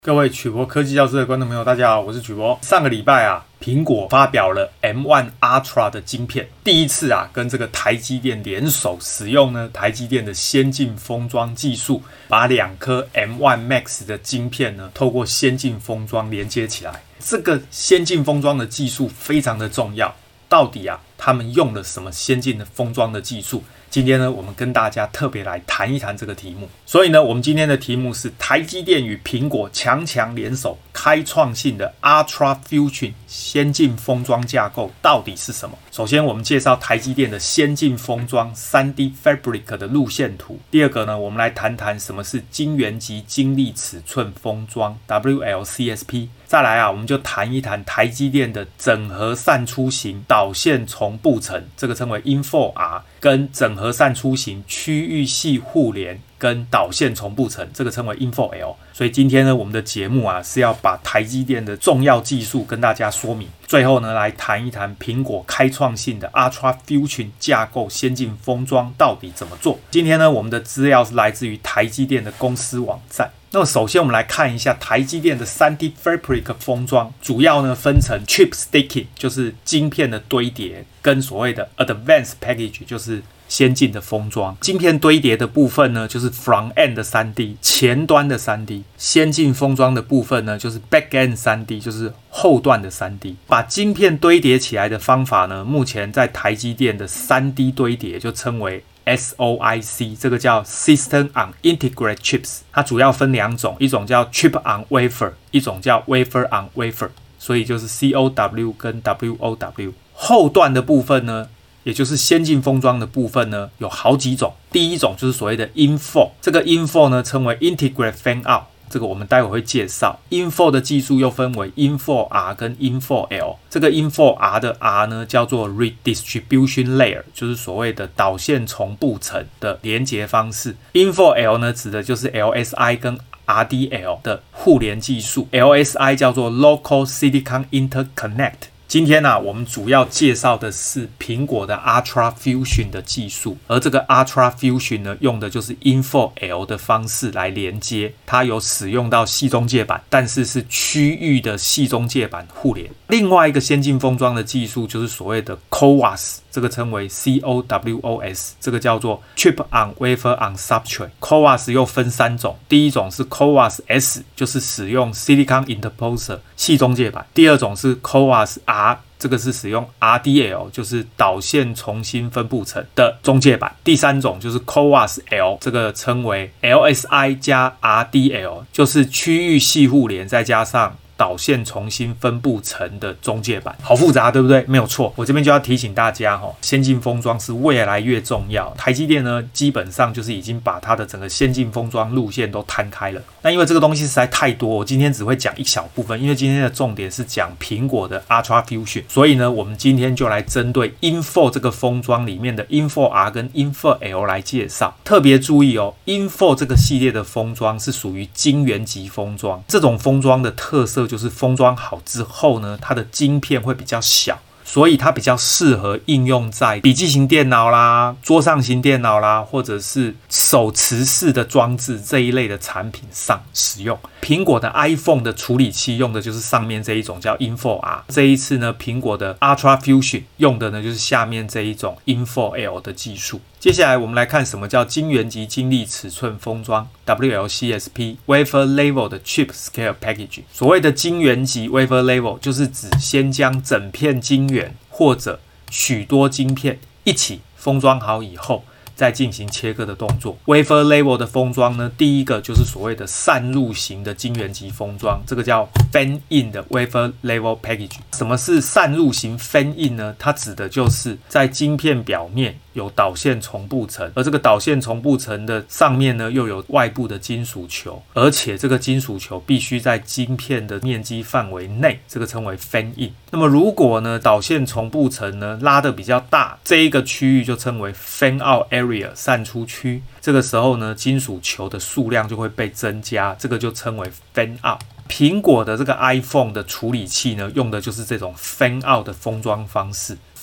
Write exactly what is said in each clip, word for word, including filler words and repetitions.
各位曲博科技教室的觀眾朋友，大家好，我是曲博。上個禮拜啊，蘋果發表了 M 一 Ultra 的晶片，第一次啊跟這個台積電聯手使用呢台積電的先進封裝技術，把兩顆 M 一 Max 的晶片呢透過先進封裝連接起來。這個先進封裝的技術非常的重要，到底啊他們用了什麼先進的封裝的技術？今天呢，我們跟大家特別來談一談這個題目。所以呢，我們今天的題目是台積電與蘋果強強聯手，開創性的 Ultra Fusion 先進封裝架構到底是什麼？首先，我們介紹台積電的先進封裝 三 D Fabric 的路線圖。第二個呢，我們來談談什麼是晶圓級晶粒尺寸封裝 W L C S P。再來啊，我們就談一談台積電的整合散出型導線重布層，這個稱為 I N F O R， 跟整合散出型區域系互聯跟導線重布層，這個稱為 I N F O L。所以今天呢，我們的節目啊是要把台積電的重要技術跟大家說明。最後呢，來談一談蘋果開創性的 Ultra Fusion 架構先進封裝到底怎麼做。今天呢，我們的資料是來自於台積電的公司網站。那麼首先我們來看一下台積電的 三 D Fabric 封裝，主要呢分成 Chip Stacking， 就是晶片的堆疊，跟所謂的 Advanced Package， 就是先進的封裝。晶片堆疊的部分呢，就是 Front End 的 三 D， 前端的 三 D。先進封裝的部分呢，就是 Back End 三 D， 就是後段的 三 D。把晶片堆疊起來的方法呢，目前在台積電的 三 D 堆疊就稱為S O I C， 這個叫 System on Integrated Chips， 它主要分兩種，一種叫 Chip on Wafer， 一種叫 Wafer on Wafer， 所以就是 C O W 跟 W O W。後段的部分呢，也就是先進封裝的部分呢，有好幾種。第一種就是所謂的 I N F O， 這個 I N F O 呢稱為 Integrated Fan Out， 這個我們待會會介紹。I N F O 的技術又分為 I N F O R 跟 I N F O L， 這個 I N F O R 的 R 呢叫做 Redistribution Layer， 就是所謂的導線重布層的連接方式。I N F O L 呢指的就是 L S I 跟 R D L 的互聯技術， L S I 叫做 Local Silicon Interconnect。今天啊，我們主要介紹的是蘋果的 Ultra Fusion 的技術，而這個 Ultra Fusion 呢，用的就是 I N F O L 的方式來連接，它有使用到矽中介板，但是是區域的矽中介板互聯。另外一個先進封裝的技術就是所謂的 C O W O S， 這個稱為 C O W O S， 這個叫做 Chip on Wafer on Substrate。C O W O S 又分三種，第一種是 C O W O S S， 就是使用 Silicon Interposer 矽中介板；第二種是 C O W O S R，這個是使用 R D L， 就是導線重新分布層的中介板；第三種就是 C O W O S L， 這個稱為 L S I 加 R D L， 就是區域系互聯再加上導線重新分布層的中介板。好複雜，對不對？沒有錯。我這邊就要提醒大家哈，先進封裝是越來越重要。台積電呢，基本上就是已經把它的整個先進封裝路線都攤開了。那因為這個東西實在太多，我今天只會講一小部分，因為今天的重點是講蘋果的 Ultra Fusion， 所以呢，我們今天就來針對 I N F O 這個封裝裡面的 I N F O R 跟 I N F O L 來介紹。特別注意哦 ，I N F O 這個系列的封裝是屬於晶圓級封裝，這種封裝的特色就是封裝好之後呢，它的晶片會比較小，所以它比較適合應用在筆記型電腦啦、桌上型電腦啦，或者是手持式的裝置這一類的產品上使用。蘋果的 iPhone 的處理器用的就是上面這一種叫 I N F O R， 這一次呢，蘋果的 Ultra Fusion 用的呢就是下面這一種 I N F O L 的技術。接下來我們來看什麼叫晶圓級晶粒尺寸封裝 W L C S P Wafer Level 的 Chip Scale Package。所謂的晶圓級 Wafer Level 就是指先將整片晶圓或者許多晶片一起封裝好以後，再進行切割的動作。Wafer Level 的封裝呢，第一個就是所謂的散入型的晶圓級封裝，這個叫 Fan In 的 Wafer Level Package。什麼是散入型 Fan In 呢？它指的就是在晶片表面有導線重布層，而這個導線重布層的上面呢，又有外部的金屬球，而且這個金屬球必須在晶片的面積範圍內，這個稱為 Fan In。那麼如果呢，導線重布層呢拉得比較大，這一個區域就稱為 Fan Out Area 散出區。這個時候呢，金屬球的數量就會被增加，這個就稱為 Fan Out。蘋果的這個 iPhone 的處理器呢，用的就是這種 Fan Out 的封裝方式。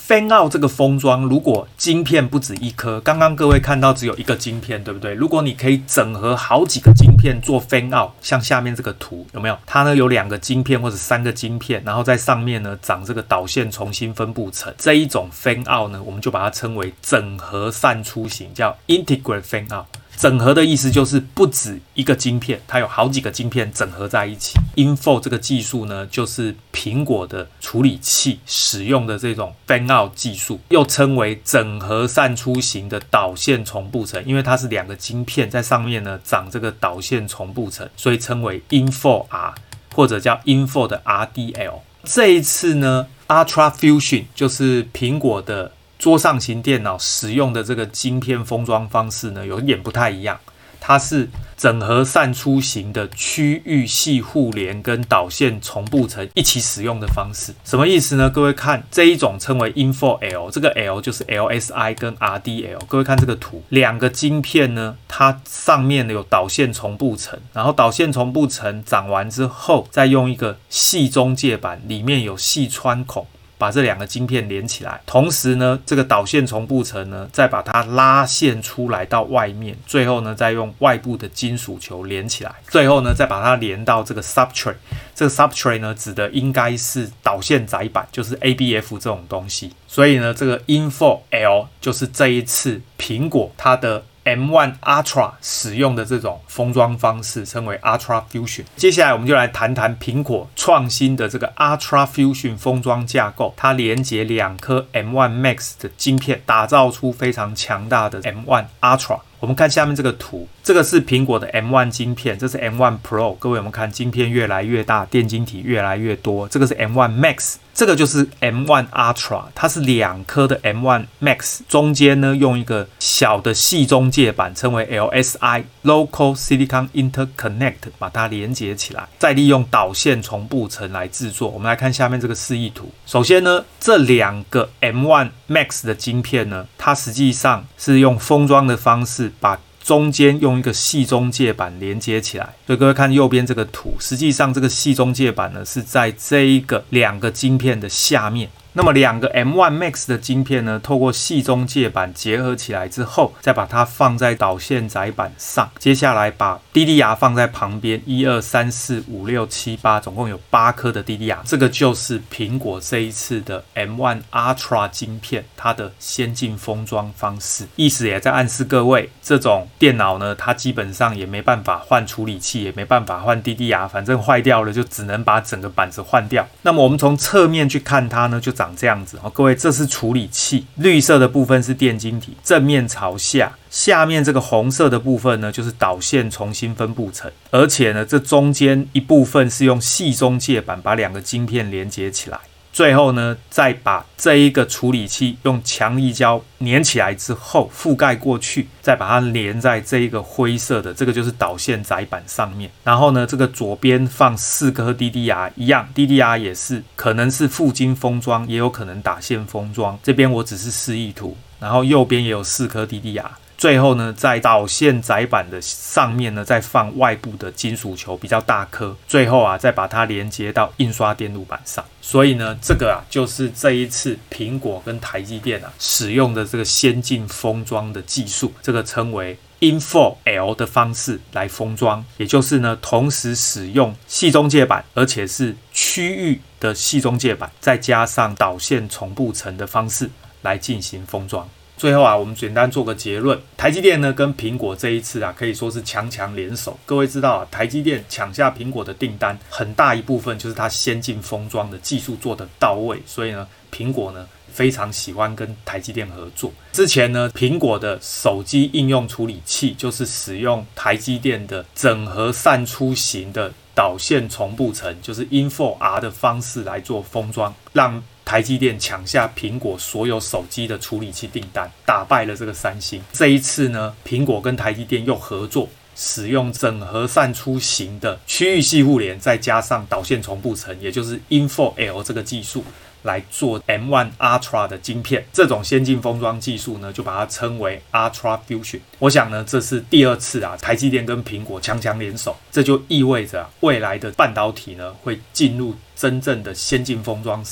Fan-out 這個封裝，如果晶片不止一顆，剛剛各位看到只有一個晶片，對不對？如果你可以整合好幾個晶片做 Fan-out，像下面這個圖有沒有？它呢有兩個晶片或者三個晶片，然後在上面呢長這個導線重新分布層，這一種 Fan-out 呢，我們就把它稱為整合散出型，叫 Integrate Fan-out。整合的意思就是不止一個晶片，它有好幾個晶片整合在一起。I N F O 這個技術呢，就是蘋果的處理器使用的這種 Fan-out 技術，又稱為整合散出型的導線重布層，因為它是兩個晶片在上面呢長這個導線重布層，所以稱為 I N F O R 或者叫 I N F O 的 R D L。這一次呢 ，Ultra Fusion 就是蘋果的桌上型電腦使用的這個晶片封裝方式呢，有一點不太一樣。它是整合散出型的區域系互聯跟導線重布層一起使用的方式。什麼意思呢？各位看這一種稱為 I N F O L， 這個 L 就是 L S I 跟 R D L。各位看這個圖，兩個晶片呢，它上面有導線重布層，然後導線重布層長完之後，再用一個矽中介板，裡面有矽穿孔，把這兩個晶片連起來，同時呢，這個導線重布層呢，再把它拉線出來到外面，最後呢，再用外部的金屬球連起來，最後呢，再把它連到這個 substrate。這個 substrate 呢，指的應該是導線載板，就是 A B F 這種東西。所以呢，這個 I N F O L 就是這一次蘋果它的M 一 Ultra 使用的這種封裝方式，稱為 Ultra Fusion。接下來我們就來談談蘋果創新的這個 Ultra Fusion 封裝架構，它連接兩顆 M 一 Max 的晶片，打造出非常強大的 M 一 Ultra。我們看下面這個圖，這個是蘋果的 M 一 晶片，這是 M 一 Pro。各位，我們看晶片越來越大，電晶體越來越多。這個是 M 一 Max， 這個就是 M 一 Ultra， 它是兩顆的 M 一 Max， 中間呢用一個小的矽中介板，稱為 L S I（Local Silicon Interconnect） 把它連接起來，再利用導線重布層來制作。我們來看下面這個示意圖。首先呢，這兩個 M 一 Max 的晶片呢，它實際上是用封裝的方式，把中間用一個矽中介板連接起來。所以各位看右邊這個圖，實際上這個矽中介板呢是在這一個兩個晶片的下面。那麼兩個 M 一 Max 的晶片呢，透過矽中介板結合起來之後，再把它放在導線載板上。接下來把 D D R 放在旁邊，一二三四五六七八，總共有八顆的 D D R。這個就是蘋果這一次的 M 一 Ultra 晶片它的先進封裝方式。意思也在暗示各位，這種電腦呢，它基本上也沒辦法換處理器，也沒辦法換 D D R， 反正壞掉了就只能把整個板子換掉。那麼我們從側面去看它呢，就長這樣子。各位，這是處理器，綠色的部分是電晶體，正面朝下，下面這個紅色的部分呢，就是導線重新分布層，而且呢，這中間一部分是用矽中介板把兩個晶片連接起來。最後呢，再把這一個處理器用強力膠粘起來之後覆蓋過去，再把它連在這一個灰色的，這個就是導線載板上面。然後呢，這個左邊放四顆 D D R， 一樣 D D R 也是可能是覆晶封裝，也有可能打線封裝。這邊我只是示意圖，然後右邊也有四顆 D D R。最後呢，在導線載板的上面呢，再放外部的金屬球，比較大顆。最後啊，再把它連接到印刷電路板上。所以呢，這個啊，就是這一次蘋果跟台積電啊使用的這個先進封裝的技術，這個稱為 I N F O L 的方式來封裝，也就是呢，同時使用矽中介板，而且是區域的矽中介板，再加上導線重布層的方式來進行封裝。最後啊，我們簡單做個結論，台積電呢跟蘋果這一次啊可以說是強強聯手。各位知道啊，台積電搶下蘋果的訂單，很大一部分就是它先進封裝的技術做得到位，所以呢，蘋果呢非常喜歡跟台積電合作。之前呢，蘋果的手機應用處理器就是使用台積電的整合散出型的導線重布層，就是 I N F O R 的方式來做封裝，讓台積電搶下蘋果所有手機的處理器訂單，打敗了這個三星。這一次呢，蘋果跟台積電又合作，使用整合散出型的區域系互聯，再加上導線重布層，也就是 I N F O L 這個技術來做 M 一 Ultra 的晶片。這種先進封裝技術呢，就把它稱為 Ultra Fusion。我想呢，這是第二次啊，台積電跟蘋果強強聯手，這就意味着啊，未來的半導體呢，會進入真正的先進封裝時代。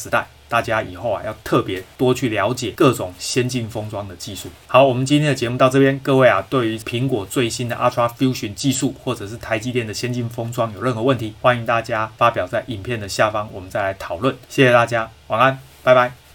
大家以後啊要特別多去了解各種先進封裝的技術。好，我們今天的節目到這邊，各位啊，對於蘋果最新的 Ultra Fusion 技術或者是台積電的先進封裝有任何問題，歡迎大家發表在影片的下方，我們再來討論。謝謝大家，晚安，拜拜。